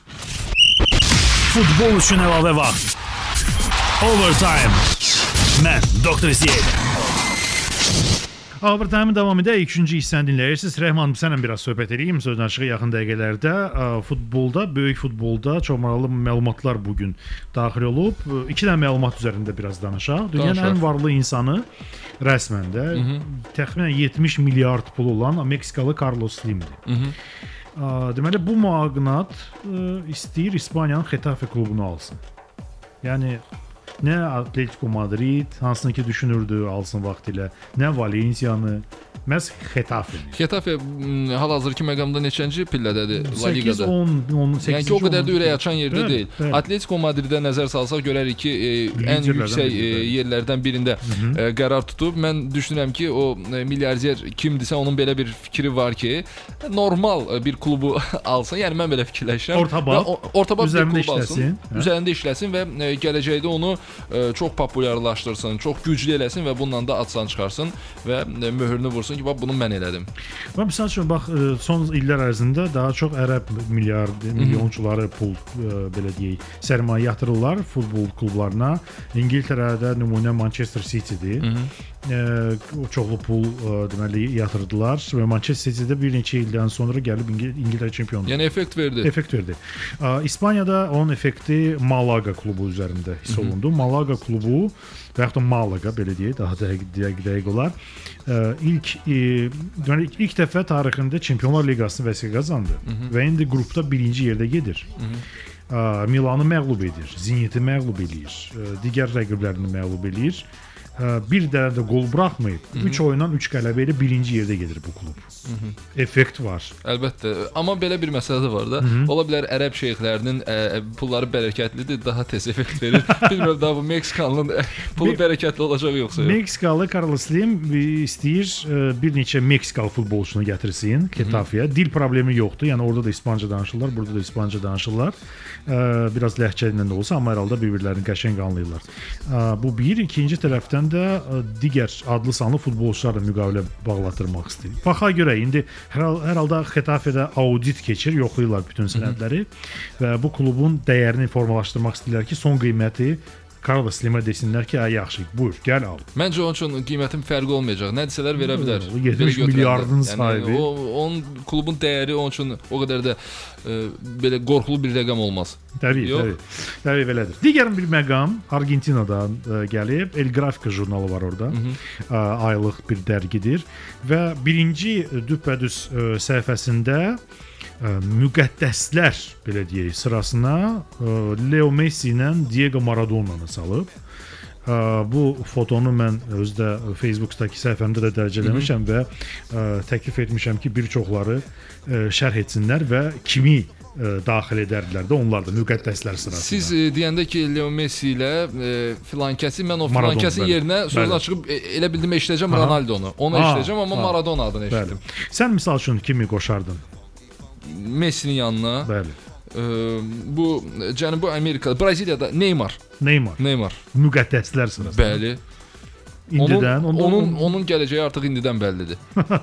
Futbol üçün əlavə vaxt. Overtime. Mən doktor Ziya. Overtime davam edə ikinci hissəni dinləyirsiniz. Rəhman, sənlə biraz söhbət edeyim. Sözün açığı yaxın dəqiqələrdə futbolda, böyük futbolda çox maraqlı məlumatlar bugün daxil olub. İki dənə məlumat üzərində biraz danışaq. Dünyanın ən varlı insanı rəsmən də təxminən yetmiş milyard pulu olan Meksikalı Carlos Slimdir. Deməli bu mağnat istəyir İspaniyanın Xetafe klubunu alsın. Yəni nə Atletico Madrid, hansını ki düşünürdü alsın vaxtilə, nə Valensiyanı, məhz Xetafe-ni. Xetafe hal-hazırki məqamda neçənci pillədədir La Ligada? səkkiz on on səkkiz. Yəni ki, o qədər də ürək açan yerdə bəli, deyil. Bəli. Atletico Madridə nəzər salsaq görərik ki, e, ən yüksək e, yerlərdən birində e, qərar tutub. Mən düşünürəm ki, o e, milyarder kimdirsə onun belə bir fikri var ki, normal bir klubu alsın. Yəni mən belə fikirləşirəm. Ortabab, ortabab bir klub işləsin, alsın. Üzərində işləsin və e, gələcəkdə onu e, çox populyarlaşdırsın, çox güclü eləsin və bundan da adsan çıxarsın və e, möhürünü vursun ki, bax bunu mən elədim. Və məsəl üçün bax son illər ərzində daha çox ərəb milyard milyonçuları pul belə deyək, sərmayə yatırırlar futbol klublarına. İngiltərədə nümunə Manchester City-dir. O çoxlu pul deməli yatırdılar və Manchester City-də bir neçə ildən sonra gəlib İngiltərə çempionu. Yəni effekt verdi. Effekt verdi. İspaniyada onun effekti Malaga klubu üzərində hiss olundu. Malaga klubu və yaxud da Malaga belə deyək, daha dəqiq dəqiq olar. İlk deməli ilk dəfə tarixində Çempionlar Liqasını vəsiqə qazandı və indi qrupda birinci yerdə gedir. Milanı məğlub edir, Zeniti məğlub edir, digər rəqiblərini məğlub edir. Bir dənə də qol buraxmayıb. üç oyundan üç qələbə ilə birinci yerdə gedir bu klub. Hı -hı. Effekt var. Əlbəttə. Amma belə bir məsələ də var da. Hı -hı. Ola bilər ərəb şeyxlərinin ə, pulları bərəkətlidir, daha tez effekt verir. Bilmirəm daha bu Meksikanlının pulu bərəkətli olacaq yoxsa yox. Meksikalı Carlos Slim istəyir ə, bir neçə Meksikalı futbolçunu gətirsin Xetafeyə. Dil problemi yoxdur. Yəni orada da İspanca danışırlar, burada da İspanca danışırlar. Ə, biraz ləhcə ilə də olsa, amma hər halda bir-birlərini qəşəng anlayırlar. Ə, bu bir, ikinci tərəfdən də digər adlı sanlı futbolçularla müqavilə bağlatdırmaq istəyir. Baxa görə indi hər, hər halda Xetafedə audit keçir, yoxlayırlar bütün sənədləri və bu klubun dəyərini formalaşdırmaq istəyirlər ki, son qiyməti Carlos Slimə desinlər ki, ay yaxşı, buyur, gəl al. Məncə onun üçün qiymətin fərqi olmayacaq. Nə desələr verə bilər. yetmiş milyardın sahibi. Yəni, o, onun klubun dəyəri onun üçün o qədər də e, belə qorxulu bir rəqəm olmaz. Təbii, təbii. Təbii belədir. Digər bir məqam Argentinadan e, gəlib. El Gráfico jurnalı var orada. Hı -hı. E, aylıq bir dərgidir və birinci düpbədüz e, səhifəsində müqəddəslər belə deyək sırasına Leo Messi ilə Diego Maradona'nı salıb. Bu fotonu mən özdə Facebook'dakı səhifəmdə də dərc eləmişəm və təklif etmişəm ki, bir çoxları şərh etsinlər və kimi daxil edərdilər də onlar da müqəddəslər sırasında. Siz e, deyəndə ki, Leo Messi ilə e, filan kəsi, mən o filan kəsin yerinə sözünü çıxıb e, elə bildim eşidəcəm Ronaldo-nu. Onu eşidəcəm, amma ha. Maradona adını eşitdim. Sən misal üçün kimi qoşardın? Messi'nin yanına. Bəli. E, bu Cənubi Amerikada, Braziliyada Neymar. Neymar. Neymar. Müqəddəslər sırasında. Bəli. İndidən, onun, onun, onun, onun gələcəyi artıq indidən bəllidir.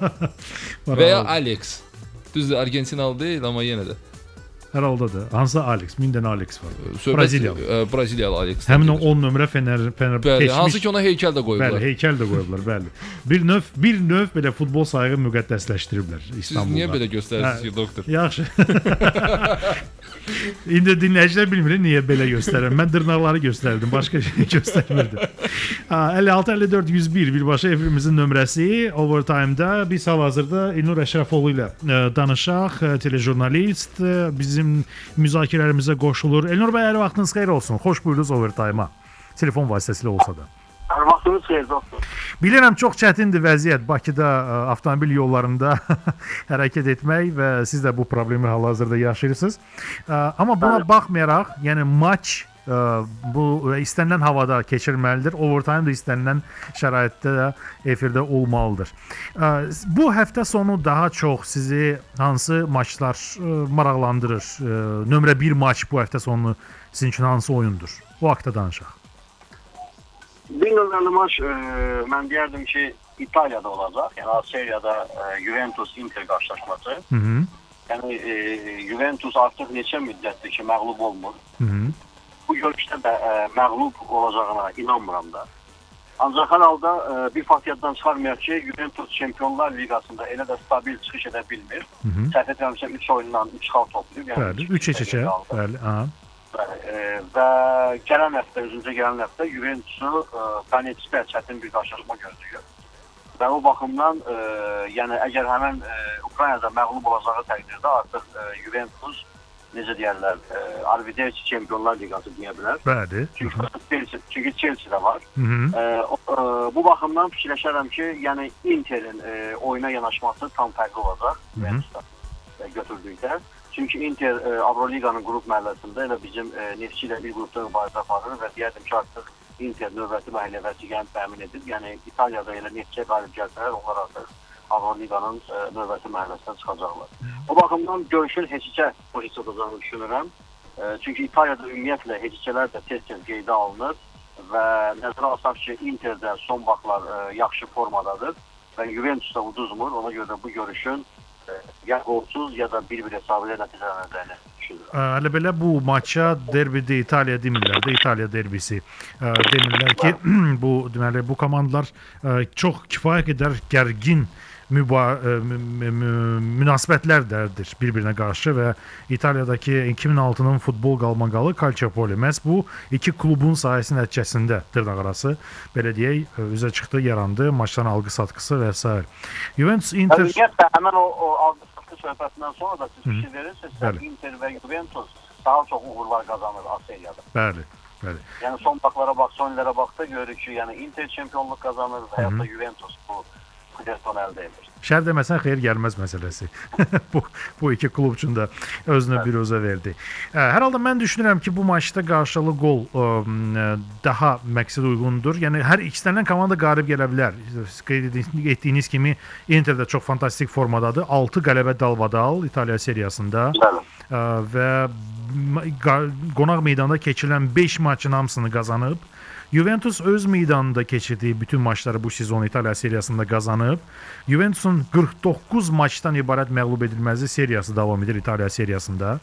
Və ya Alex. Düzdür, Argentinalı deyil, amma yenə də. Hər halda da. Hansı Alex? Min dənə Alex var. Söhbət, Braziliyalı. E, Braziliyalı Alex. Həmin o on nömrə Fener Fener bəli, keçmiş. Hansı ki ona heykəl də qoyublar. Bəli, heykəl də qoyublar, bəli. Bir növ bir növ belə futbol sayığı müqəddəsləşdiriblər İstanbulda. Siz niyə belə göstərirsiniz ki, doktor? Yaxşı. İndi dinləyicilər bilmir niyə belə göstərirəm. Mən dırnaqları göstərdim, başqa şey göstərmirdim. əlli altı əlli dörd yüz bir birbaşa efrimizin nömrəsi. Overtime-da biz hal-hazırda İlnur Əşrəfoğlu ilə danışaq, telejurnalist, bizim müzakirələrimizə qoşulur. Elnur bəy, hər vaxtınız xeyir olsun. Xoş buyurdunuz Overtime-a. Telefon vasitəsilə olsa da. Hər vaxtınız xeyir doktor. Bilirəm, çox çətindir vəziyyət Bakıda ə, avtomobil yollarında hərəkət etmək və siz də bu problemi hal-hazırda yaşayırsınız. Ə, amma buna baxmayaraq, yəni maç ə, bu istənilən havada keçirilməlidir. Overtime da istənilən şəraitdə də efirdə olmalıdır. Ə, bu həftə sonu daha çox sizi hansı maçlar ə, maraqlandırır? Ə, nömrə bir maç bu həftə sonu sizin üçün hansı oyundur? O haqqda danışaq. Bir nömrəli maç e, mən deyərdim ki, İtaliyada olacaq. Yəni Seriyada e, Juventus-Inter qarşılaşması. Hı -hı. Yəni e, Juventus artıq neçə müddətdir ki, məğlub olmur. Hı -hı. Bu görüşdə də e, məğlub olacağına inanmıram da. Ancaq hər halda e, bir faktiyatdan çıxarmayaq ki, Juventus Çempionlar Liqasında elə də stabil çıxış edə bilmir. Səhv etmirəmsə üç oyundan üç xal toplayıb. Yəni bəli, üç eçə. Bəli, aha. E, və gələn həftə, özüncə gələn həftə Juventusu Donetskdə çətin bir qarşılaşma gözləyir. Və o baxımdan, e, yəni əgər həmən e, Ukraynada məğlub olacağı təqdirdə artıq e, Juventus, necə deyərlər, e, Arvideci Çempionlar Liqası deyə bilər. Bəli. Çünki Chelsea, çünki Chelsea də var. Hı -hı. E, o, e, bu baxımdan fikirləşərəm ki, yəni Interin e, oyuna yanaşması tam fərqli olacaq Juventusda e, götürdükdə. Çünki Inter e, Avroliqanın qrup mərhələsində elə bizim e, Neftçi ilə bir qrupda mübarizə aparır və deyərdim ki, artıq Inter növbəti mərhələyə təmin edib. Yəni İtaliyada elə Neftçiyə qalib gəlsələr, onlar artıq Avroliqanın e, növbəti mərhələsindən çıxacaqlar. O baxımdan görüşün heçicə pozisiyada olacağını düşünürəm. E, çünki İtaliyada ümumiyyətlə heçicələr də tez-tez qeydə alınır və nəzərə alsaq ki, Interdə son vaxtlar e, yaxşı formadadır və Juventusda uduzmur. Ona görə də bu görüşün ya qolsuz ya da bir-bir hesabı ilə nəticələnəcəyini düşünürəm. Hələ belə bu maça derbidə İtaliya demirlər də, İtaliya derbisi. Demirlər ki, bu deməli bu komandalar çox kifayət qədər gərgin münasibətlərdir bir-birinə qarşı və İtaliyadakı iki min altının futbol qalmaqalı Calciopoli məhz bu iki klubun sayəsi nəticəsində dırnaqarası belə deyək üzə çıxdı, yarandı, maçların alqı-satqısı və s. Juventus Inter Ümumiyyətlə həmin o, o alqı-satqı söhbətindən sonra da siz bir şey verirsiniz, Inter və Juventus daha çox uğurlar qazanır A seriyada. Bəli, bəli. Yəni son vaxtlara bax, son illərə baxda görürük ki, yəni Inter çempionluq qazanır və ya da Juventus bu əldə edir. Şər deməsən xeyir gəlməz məsələsi. bu, bu iki klub üçün də özünə bir özə verdi. Hər halda mən düşünürəm ki, bu maçda qarşılı gol ə, daha məqsəd uyğundur. Yəni hər ikisindən komanda qalib gələ bilər. Qeyd etdiyiniz kimi Inter də çox fantastik formadadır. altı qələbə dalbadal İtaliya seriyasında. Bəli. Ə, və qonaq meydanda keçirilən beş maçın hamısını qazanıb. Juventus öz meydanında keçirdiyi bütün maçları bu sezon İtaliya seriyasında qazanıb. Juventusun qırx doqquz maçdan ibarət məğlub edilməzlik seriyası davam edir İtaliya seriyasında.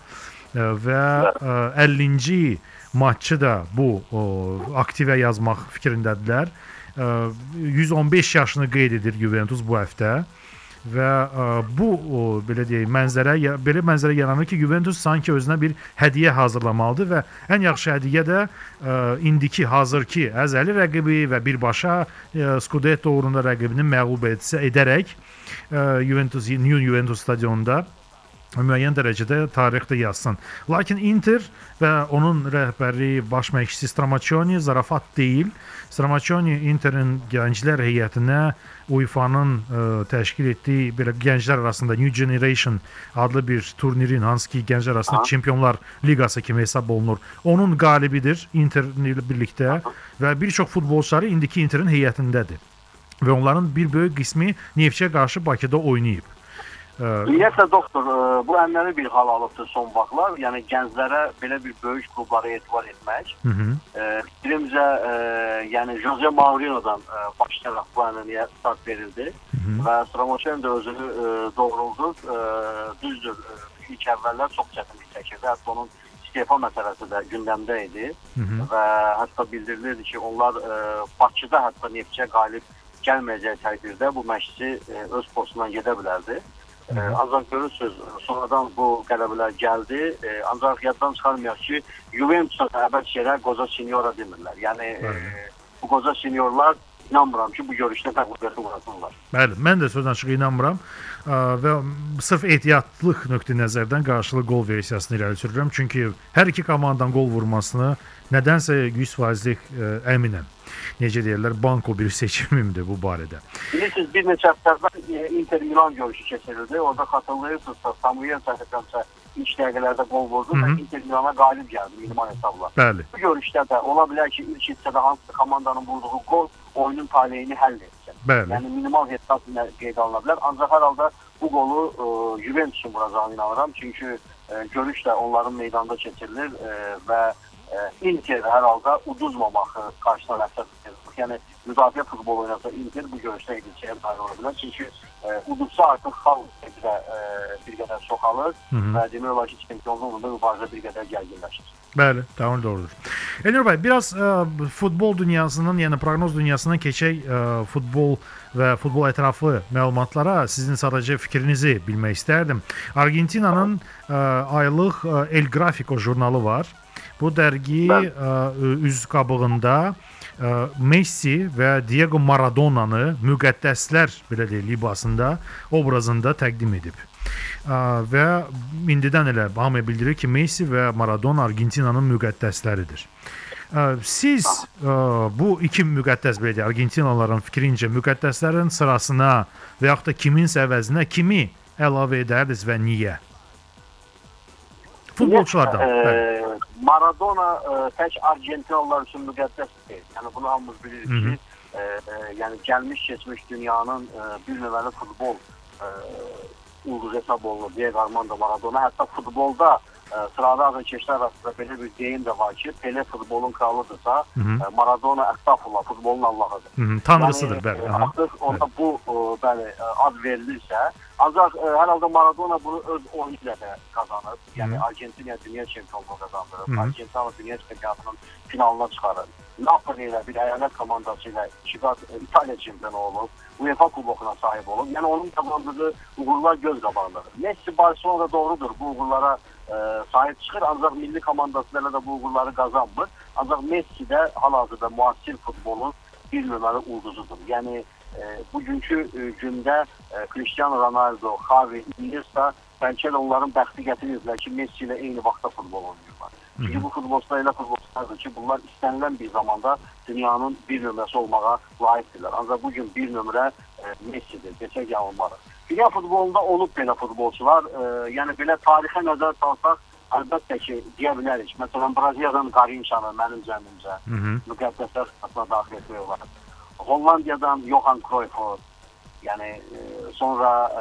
Və əllinci maçı da bu aktivə yazmaq fikrindədirlər. yüz on beş yaşını qeyd edir Juventus bu həftə. Və ə, bu o, belə deyək, mənzərə belə mənzərə yaranır ki, Juventus sanki özünə bir hədiyyə hazırlamalıdır və ən yaxşı hədiyyə də ə, indiki hazırki əzəli rəqibi və birbaşa ə, Scudetto uğrunda rəqibini məğlub etsə edərək ə, Juventus New Juventus stadionunda müəyyən dərəcədə tarixdə yazsın. Lakin Inter və onun rəhbəri baş məşqçisi Stramaccioni zarafat deyil. Stramaccioni Interin gənclər heyətinə U E F A-nın ə, təşkil etdiyi belə gənclər arasında New Generation adlı bir turnirin, hansı ki gənclər arasında Çempionlar Liqası kimi hesab olunur. Onun qalibidir Inter ilə birlikdə və bir çox futbolçuları indiki Interin heyətindədir. Və onların bir böyük qismi Neftçiyə qarşı Bakıda oynayıb. Ümumiyyətlə doktor, bu ənləri bir hal alıbdır son vaxtlar. Yəni gənclərə belə bir böyük klublara etibar etmək. Fikrimcə, yəni Jose Mourinho'dan başlayaraq bu ənəliyə start verildi. Hı -hı. Və Stramaccioni də özünü doğruldur. Düzdür, ilk əvvəllər çox çətinlik çəkirdi. Hətta onun istefa məsələsi də gündəmdə idi. Hı -hı. Və hətta bildirilirdi ki, onlar Bakıda hətta Neftçiyə qalib gəlməyəcək təqdirdə bu məşqçi öz postundan gedə bilərdi. Ee, ancaq görürsünüz, sonradan bu qələbələr gəldi. Ee, ancaq yaddan çıxarmayaq ki, Juventus'a əbəd şeylər qoca seniora demirlər. Yəni e, bu qoca seniorlar inanmıram ki, bu görüşdə məğlubiyyəti uğrasınlar. Bəli, mən də sözdən çıxı inanmıram və sırf ehtiyatlıq nöqtə nəzərdən qarşılı gol versiyasını irəli sürürəm. Çünki hər iki komandanın gol vurmasını nədənsə yüz faizlik əminəm. Necə deyirlər, banko bir seçimimdir bu barədə. Bilirsiniz, bir neçə həftədən Inter Milan görüşü keçirildi. Orada xatırlayırsınızsa, Samuel Çəkəcəmsə ilk dəqiqələrdə gol vurdu və Inter Milana qalib gəldi minimal hesabla. Bəli. Bu görüşdə də ola bilər ki, ilk hissədə hansı komandanın vurduğu gol oyunun taleyini həll etsin. Bəli. Yəni minimal hesab qeyd alına bilər. Ancaq hər halda bu qolu e, Juventus'un vuracağını inanıram. Çünki e, görüş də onların meydanda keçirilir e, və e, Inter hər halda uduzmamaq qarşısına məqsəd tutur. Yəni müdafiə futbol oynasa Inter bu görüşdə edilçəyə nail ola bilər. Çünki e, uduzsa artıq xal bir, e, bir qədər çoxalır və demək olar ki, çempionluğunda mübarizə bir qədər gərginləşir. Bəli, tamam doğrudur. Elnur bəy, biraz ə, futbol dünyasının, yəni proqnoz dünyasından keçək ə, futbol və futbol ətrafı məlumatlara. Sizin sadəcə fikrinizi bilmək istərdim. Argentinanın ə, aylıq ə, El Gráfico jurnalı var. Bu dərgi ə, üz qabığında Messi və Diego Maradona'nı müqəddəslər belə deyək libasında, obrazında təqdim edib. Və indidən elə hamıya bildirir ki, Messi və Maradona Argentinanın müqəddəsləridir. Siz bu iki müqəddəs belə deyək, Argentinalıların fikrincə müqəddəslərin sırasına və yaxud da kiminsə əvəzinə kimi əlavə edərdiniz və niyə? Futbolçulardan. E, Maradona e, tək Argentinalılar üçün müqəddəs deyil. Yəni bunu hamımız bilirik ki, e, e, yəni gəlmiş keçmiş dünyanın e, bir növəli futbol e, ulduz hesab olunur. Diego Armando Maradona. Hətta futbolda e, sırada azarkeşlər arasında belə bir deyim də var ki, Pele futbolun kralıdırsa, e, Maradona əstağfurullah futbolun Allahıdır. Hı -hı, tanrısıdır yəni, bəli. Artıq ona bu e, bəli, ad verilirsə, ancaq e, hər halda Maradona bunu öz oyunu ilə də qazanır. Yəni Argentina dünya çempionluğu qazandırır. Argentina dünya çempionatının finalına çıxarır. Napoli ilə bir əyalət komandası ilə iki qat İtaliya çempionu olub. UEFA kubokuna sahib olub. Yəni onun qazandığı uğurlar göz qabağındadır. Messi Barcelona'da doğrudur. Bu uğurlara e, sahib çıxır. Ancaq milli komandasıyla da bu uğurları qazanmır. Ancaq Messi də hal-hazırda müasir futbolun bir nömrəli ulduzudur. Yəni e, bugünkü e, gündə e, Cristiano Ronaldo, Xavi, Iniesta bəlkə də onların bəxti gətirirlər ki, Messi ilə eyni vaxtda futbol oynayırlar. Çünki bu futbolçular elə futbolçulardır ki, bunlar istənilən bir zamanda dünyanın bir nömrəsi olmağa layiqdirlər. Ancaq bugün bir nömrə e, Messi'dir, desək yanılmarıq. Dünya futbolunda olub belə futbolçular, e, yəni belə tarixə nəzər salsaq, əlbəttə ki, deyə bilərik. Məsələn, Braziliyadan Garinçanı mənim zənnimcə müqəddəslər sırasına daxil etmək olar. Hollandiyadan Johan Cruyff'u, yəni e, sonra e,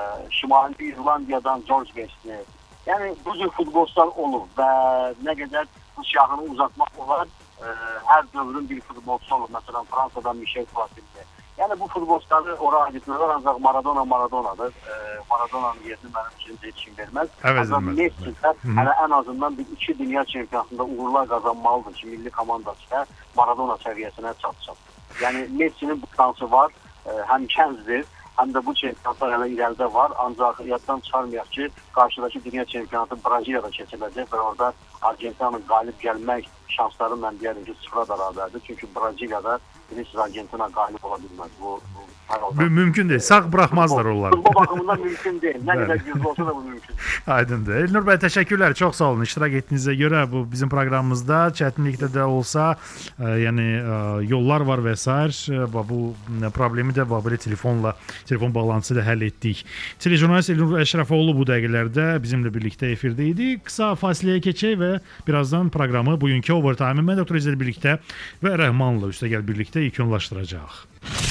Şimali İrlandiyadan George Best'i. Yəni bu cür futbolçular olur və nə qədər bu şahını uzatmaq olar, e, hər dövrün bir futbolçusu olur. Məsələn, Fransadan Michel Platini. Yəni bu futbolçuları ora aiddirlər, ancaq Maradona Maradonadır. E, Maradona'nın yerini mənim üçün heç kim verməz. Ancaq Messi də hələ ən azından bir iki dünya çempionatında uğurlar qazanmalıdır ki, milli komandası da Maradona səviyyəsinə çatsın. Yəni Messi'nin bu şansı var, e, həm kəncdir, həm də bu çempionatlar hələ irəlidə var. Ancaq yaddan çıxarmayaq ki, qarşıdakı dünya çempionatı Braziliyada keçiriləcək və orada Argentinanın qalib gəlmək şansları mən deyərəm ki, sıfıra bərabərdir. Çünki Braziliyada bilirsiniz, Argentina qalib ola bilməz. Bu, bu mümkün deyil. Sağ buraxmazlar onları. Futbol baxımından mümkün deyil. Nə qədər güclü olsa da bu mümkün. Aydındır. Elnur bəy, təşəkkürlər. Çox sağ olun. İştirak etdiyinizə görə bu bizim proqramımızda çətinlikdə də olsa, e, yəni e, yollar var və s. E, bu problemi də belə telefonla, telefon bağlantısı ilə həll etdik. Telejurnalist Elnur Əşrəfoğlu bu dəqiqələrdə bizimlə birlikdə efirdə idi. Qısa fasiləyə keçək və birazdan proqramı bugünkü Overtime-ı mən Doktor İzlər birlikdə və Rəhmanla üstəgəl birlikdə yekunlaşdıracaq.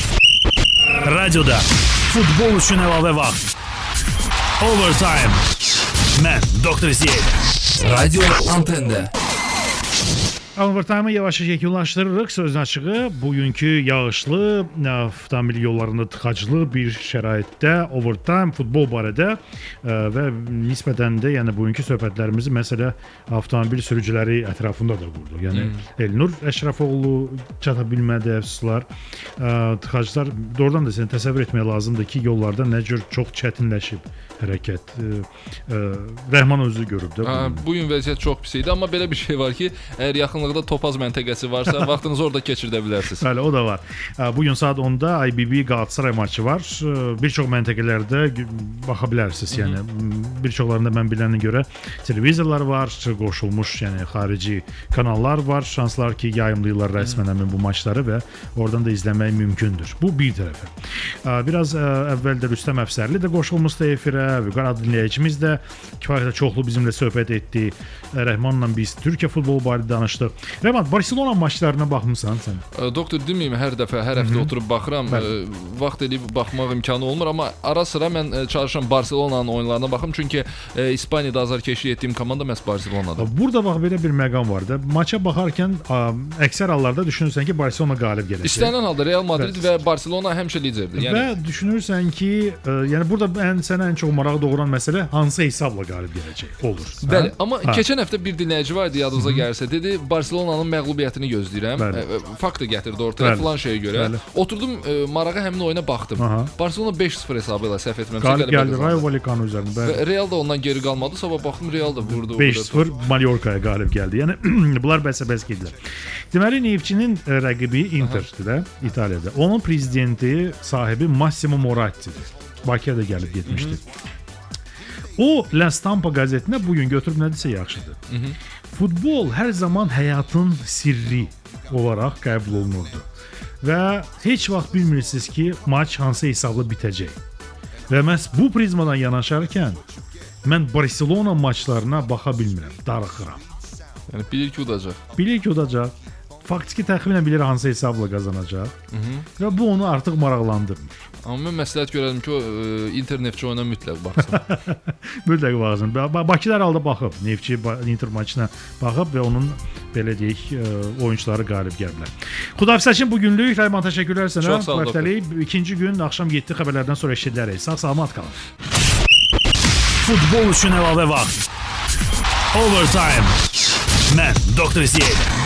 Radioda futbol üçün əlavə vaxt. Overtime. Mən Doktor İzlər. Radio Antende. Overtime-ı yavaş-yavaş yekunlaşdırırıq. Sözün açığı, bugünkü yağışlı, avtomobil yollarında tıxaclı bir şəraitdə Overtime futbol barədə və nisbətən də yəni bugünkü söhbətlərimizi məsələ avtomobil sürücüləri ətrafında da qurdu. Yəni hmm. Elnur Əşrəfoğlu çata bilmədi, əfsuslar. Tıxaclar doğrudan da səni təsəvvür etmək lazımdır ki, yollarda nə cür çox çətinləşib hərəkət. Rəhman özü görüb də. Ha, bu gün vəziyyət çox pis idi, amma belə bir şey var ki, əgər yaxınlıqda Topaz məntəqəsi varsa, vaxtınızı orada keçirdə bilərsiniz. Bəli, o da var. Bu gün saat onda I B B Galatasaray maçı var. Bir çox məntəqələrdə baxa bilərsiniz. Yəni bir çoxlarında mən bilənə görə televizorlar var, qoşulmuş, yəni xarici kanallar var. Şanslar ki, yayımlayırlar rəsmən həmin bu maçları və oradan da izləmək mümkündür. Bu bir tərəfə. Biraz əvvəldə Rüstəm Əfsərli də qoşulmuşdu efirə. Vüqar adlı dinləyicimiz də kifayət çoxlu bizimlə söhbət etdi. Rəhmanla biz Türkiyə futbolu barədə danışdıq. Rəhman, Barcelona maçlarına baxmısan sən? Doktor, deməyim, hər dəfə, hər həftə oturub baxıram. Bəli. Vaxt eləyib baxmaq imkanı olmur, amma ara sıra mən çalışıram Barcelona'nın oyunlarına baxım. Çünki e, İspaniyada azarkeşlik etdiyim komanda məhz Barcelona'dır. Burada bax belə bir məqam var da. Maça baxarkən ə, əksər hallarda düşünürsən ki, Barcelona qalib gələcək. İstənilən halda Real Madrid və, və Barcelona həmişə liderdir. Yəni və düşünürsən ki, ə, yəni burada ən sənə ən çox maraq doğuran məsələ hansı hesabla qalib gələcək olur. Bəli, hə? Amma ha. keçən həftə bir dinləyici vardı, yadınıza gəlirsə, dedi Barcelona Barselonanın məğlubiyyətini gözləyirəm. Ə, fakt da gətirdi ortaya Bəli. filan şeyə görə. Bəli. Oturdum ə, marağa həmin oyuna baxdım. Aha. Barselona beş sıfır hesabı ilə səhv etmirəmsə qalib gəldi Rayo Vallecano üzərində. Və Real da ondan geri qalmadı. Sabah baxdım Real da vurdu. beş sıfır Mallorca'ya qalib gəldi. Yəni bunlar bəs-bəs gedilər. Deməli Neftçinin rəqibi Interdir də İtaliyada. Onun prezidenti, sahibi Massimo Moratti'dir. Bakıya da gəlib getmişdi. O La Stampa qəzetinə bu gün götürüb nə desə yaxşıdır. Hı -hı. Futbol hər zaman həyatın sirri olaraq qəbul olunurdu. Və heç vaxt bilmirsiniz ki, maç hansı hesabla bitəcək. Və məhz bu prizmadan yanaşarkən mən Barselona maçlarına baxa bilmirəm, darıxıram. Yəni bilir ki, udacaq. Bilir ki, udacaq. Faktiki təxminən bilir hansı hesabla qazanacaq. Hı -hı. Və bu onu artıq maraqlandırmır. Amma mən məsləhət görərdim ki, o Inter Neftçi oyuna mütləq baxsın. mütləq baxsın. Bakıda hər halda baxıb, Neftçi Inter maçına baxıb və onun belə deyək oyunçuları qalib gəliblər. Xudafisəçin bu günlük Rayman təşəkkürlər sənə. Çox sağ ol. İkinci gün axşam yeddi xəbərlərdən sonra eşidərik. Sağ salamat qalın. Futbol üçün əlavə vaxt. Overtime. Mən Doktor Ziyad.